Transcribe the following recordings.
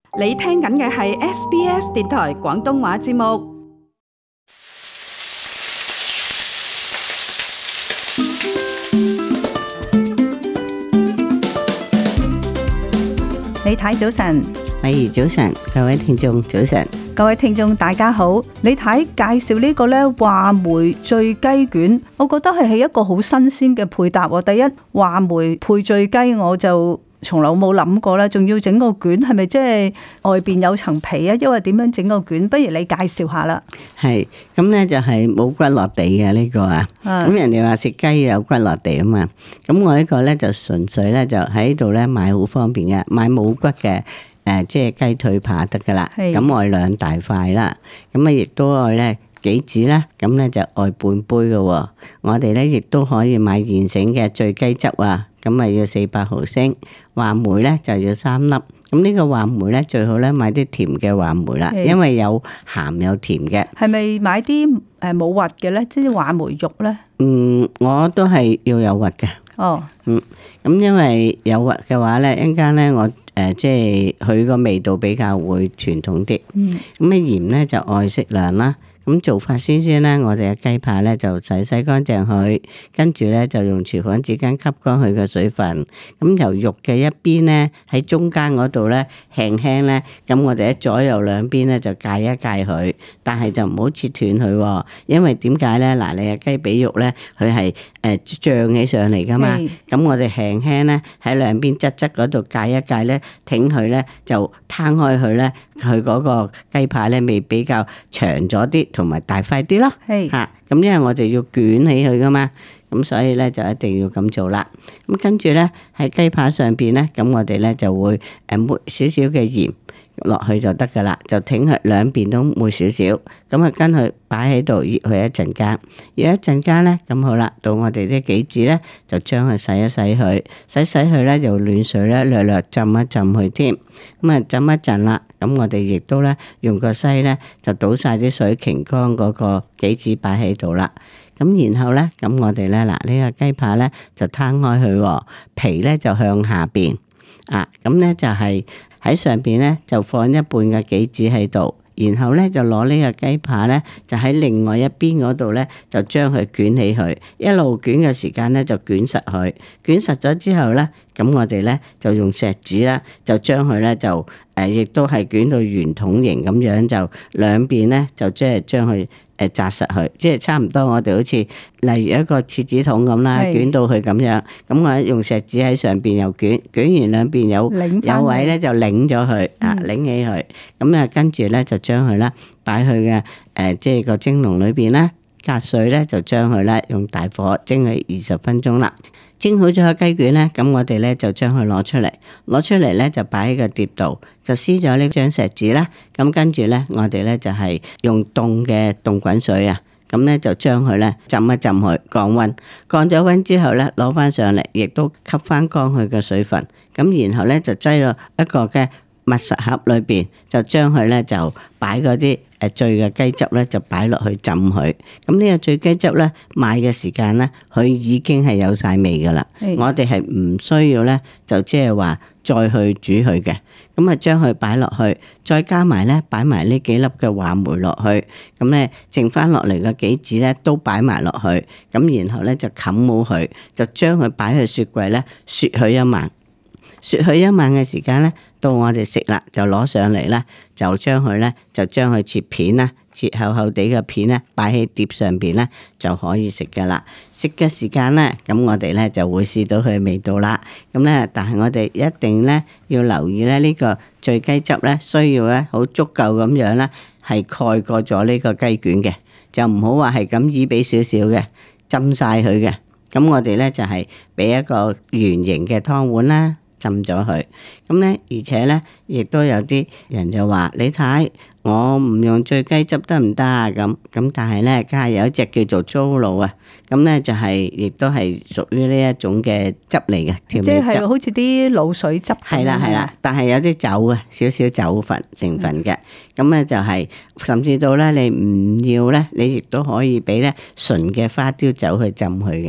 你聽緊嘅係 SBS 電台廣東話節目。 李太早晨， 美儀早晨，各位聽眾早晨， 各位聽眾大家好。李太介紹呢個呢話梅醉雞卷，我覺得係一個好新鮮嘅配搭。第一，話梅配醉雞我就從來冇諗過啦，仲要整個卷，係咪即係外邊有層皮啊？因為點樣整個卷？不如你介紹下啦。 係咁咧，就係冇骨落地嘅呢個啊。咁人哋話食雞有骨落地啊嘛。咁我呢個咧就純粹咧就喺度咧買好方便嘅，買冇骨嘅即係雞腿扒得噶啦。咁我2大塊啦，咁啊亦都愛咧杞子啦，咁咧就愛半杯嘅。我哋咧亦都可以買現成嘅醉雞汁啊。咁啊要400毫升，話梅咧就要3粒。咁呢個話梅咧最好咧買啲甜嘅話梅啦，因為有鹹有甜嘅。係咪買啲冇核嘅咧？即係話梅肉咧？ 我都係要有核嘅。 哦。 咁因為有核嘅話咧，一陣間咧我即係佢個味道比較會傳統啲。咁啊鹽咧就愛適量啦。咁做法先咧，我哋嘅雞扒咧就洗乾淨佢，跟住咧就用廚房紙巾吸乾佢嘅水分。咁由肉嘅一邊咧喺中間嗰度咧輕輕咧，咁我哋喺左右兩邊咧就界一界佢，但係就唔好切斷佢，因為點解咧？嗱，你嘅雞髀肉咧，佢係脹起上嚟噶嘛，咁我哋輕輕咧喺兩邊側嗰度界一界咧，挺佢咧就攤開佢咧，佢嗰個雞扒咧味比較長咗啲。同埋大塊啲咯，嚇咁因為我哋要捲起佢噶嘛，咁所以咧就一定要咁做啦。咁跟住咧喺雞扒上邊咧，咁我哋咧就會抹少少嘅鹽落去就得噶啦，就挺佢兩邊都抹少少，咁啊跟佢擺喺度醃佢一陣間，醃一陣間咧，咁好啦，到我哋啲杞子咧就將佢洗一洗佢，洗佢咧用暖水咧略略浸一浸佢添，咁啊浸一陣啦，咁我哋亦都咧用個篩咧就倒晒啲水擎乾嗰個杞子擺喺度啦，咁然後咧咁我哋咧嗱呢個雞扒咧就攤開佢，皮咧就向下邊啊，咁咧就係喺上邊咧就放一半嘅杞子喺度，然後咧就攞呢個雞扒咧就喺另外一邊嗰度咧就將佢捲起佢，一路捲嘅時間咧就捲實佢，捲實咗之後咧，咁我哋咧就用錫紙啦，就將佢咧就亦都係捲到圓筒形咁樣，就兩邊咧就即係將佢紮實佢，即係差唔多我哋好似例如一個廁紙筒咁啦，捲到佢咁樣，咁我用錫紙喺上邊又捲完兩邊有位咧就擰咗佢擰起佢，咁啊跟住咧就將佢啦擺去嘅即係個蒸籠裏邊啦，隔水咧就將佢咧用大火蒸佢20分鐘啦。蒸好咗個雞卷咧，咁我哋咧就將佢攞出嚟咧就擺喺個碟度，就撕咗呢張錫紙啦。咁跟住咧，我哋咧就係用凍嘅凍滾水啊，咁咧就將佢咧浸一浸佢降溫，降咗溫之後咧攞翻上嚟，亦都吸翻乾佢嘅水分。咁然後咧就擠落一個嘅密實盒裏邊，就將佢咧就擺嗰啲醉嘅雞汁咧就擺落去浸佢。咁呢個醉雞汁咧買嘅時間咧，佢已經係有晒味噶啦。我哋係唔需要咧，就即係話再去煮佢嘅。咁啊將佢擺落去，再加埋咧擺埋呢幾粒嘅話梅落去。咁咧剩翻落嚟嘅杞子咧都擺埋落去。咁然後咧就冚好佢，就將佢擺去雪櫃咧雪佢一晚。雪佢一晚嘅時間咧，到我哋食啦，就攞上嚟啦，就將佢切片啦，切厚厚地嘅片咧，擺喺碟上邊咧就可以食噶啦。食嘅時間咧，咁我哋咧就會試到佢嘅味道啦。咁咧，但係我哋一定咧要留意咧呢個醉雞汁咧，需要咧好足夠咁樣咧，係蓋過咗呢個雞卷嘅，就唔好話係咁依俾少少嘅，浸晒佢嘅。咁我哋咧就係俾一個圓形嘅湯碗啦。浸咗佢，咁咧，而且咧，亦都有啲人就話：你睇，我唔用醉雞汁得唔得啊？咁，但係咧，家下有一隻叫做糟露啊，咁咧就係，亦都係屬於呢一種嘅汁嚟嘅調味汁， 即係好似啲滷水汁咁。 係啦，但係有啲酒啊，少少酒分成分嘅，咁咧就係，甚至到咧你唔要咧，你亦都可以俾咧純嘅花雕酒去浸佢嘅。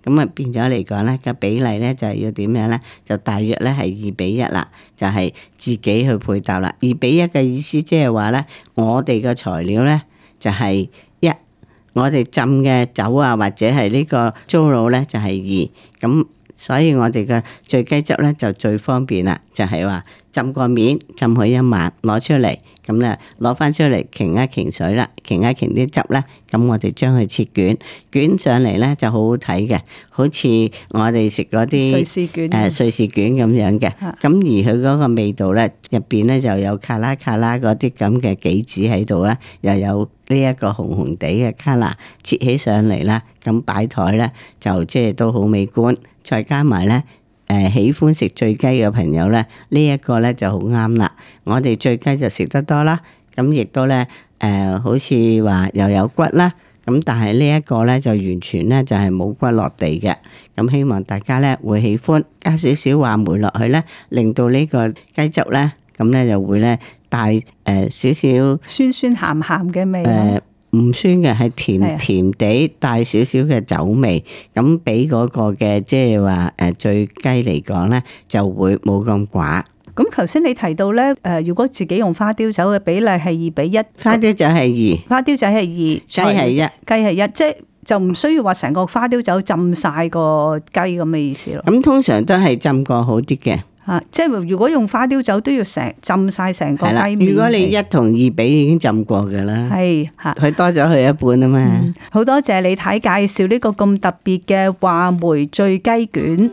咁啊變咗嚟講咧個比例咧就係要點樣咧？就大約咧係2:1啦，就係自己去配搭啦。2:1嘅意思即係話咧，我哋嘅材料咧就係1，我哋浸嘅酒啊或者係呢個糟卤咧就係2，咁所以我哋嘅醉雞汁咧就最方便啦，就係話浸個面浸佢1晚攞出嚟，咁咧攞翻出嚟擎一擎水啦，擎一擎啲汁咧，咁我哋將佢切卷，捲上嚟咧就好好睇嘅，好似我哋食嗰啲瑞士卷瑞士卷咁樣嘅。咁而佢嗰個味道咧，入邊咧就有卡拉嗰啲咁嘅杞子喺度啦，又有呢一個紅紅地嘅卡拉切起上嚟啦，咁擺台咧就即係都好美觀。再加埋咧，喜歡食醉雞嘅朋友咧，呢一個咧就好啱啦。我哋醉雞就食得多啦，咁亦都咧好似話又有骨啦，咁但係呢一個咧就完全咧就係冇骨落地嘅。咁希望大家咧會喜歡，加少少話梅落去咧，令到呢個雞汁咧咁咧就會咧帶少少酸酸鹹鹹嘅味。 唔酸嘅，係甜甜地帶少少嘅酒味，咁俾嗰個嘅即係話醉雞嚟講咧，就會冇咁寡。 咁頭先你提到咧，如果自己用花雕酒嘅比例係2:1， 花雕酒係2， 花雕酒係2， 雞係1， 雞係1，即係就唔需要話成個花雕酒浸晒個雞咁嘅意思咯。 咁通常都係浸過好啲嘅。 即係如果用花雕酒都要浸晒成個雞面。 如果你1同2比已經浸過㗎啦， 係佢多咗佢一半啊嘛。 好多謝李太介紹呢個咁特別嘅話梅醉雞卷。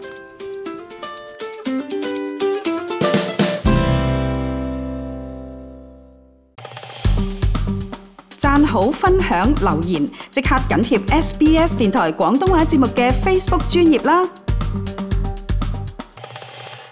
讚好、分享、留言，即刻緊貼SBS 電台廣東話節目嘅 Facebook 專頁啦！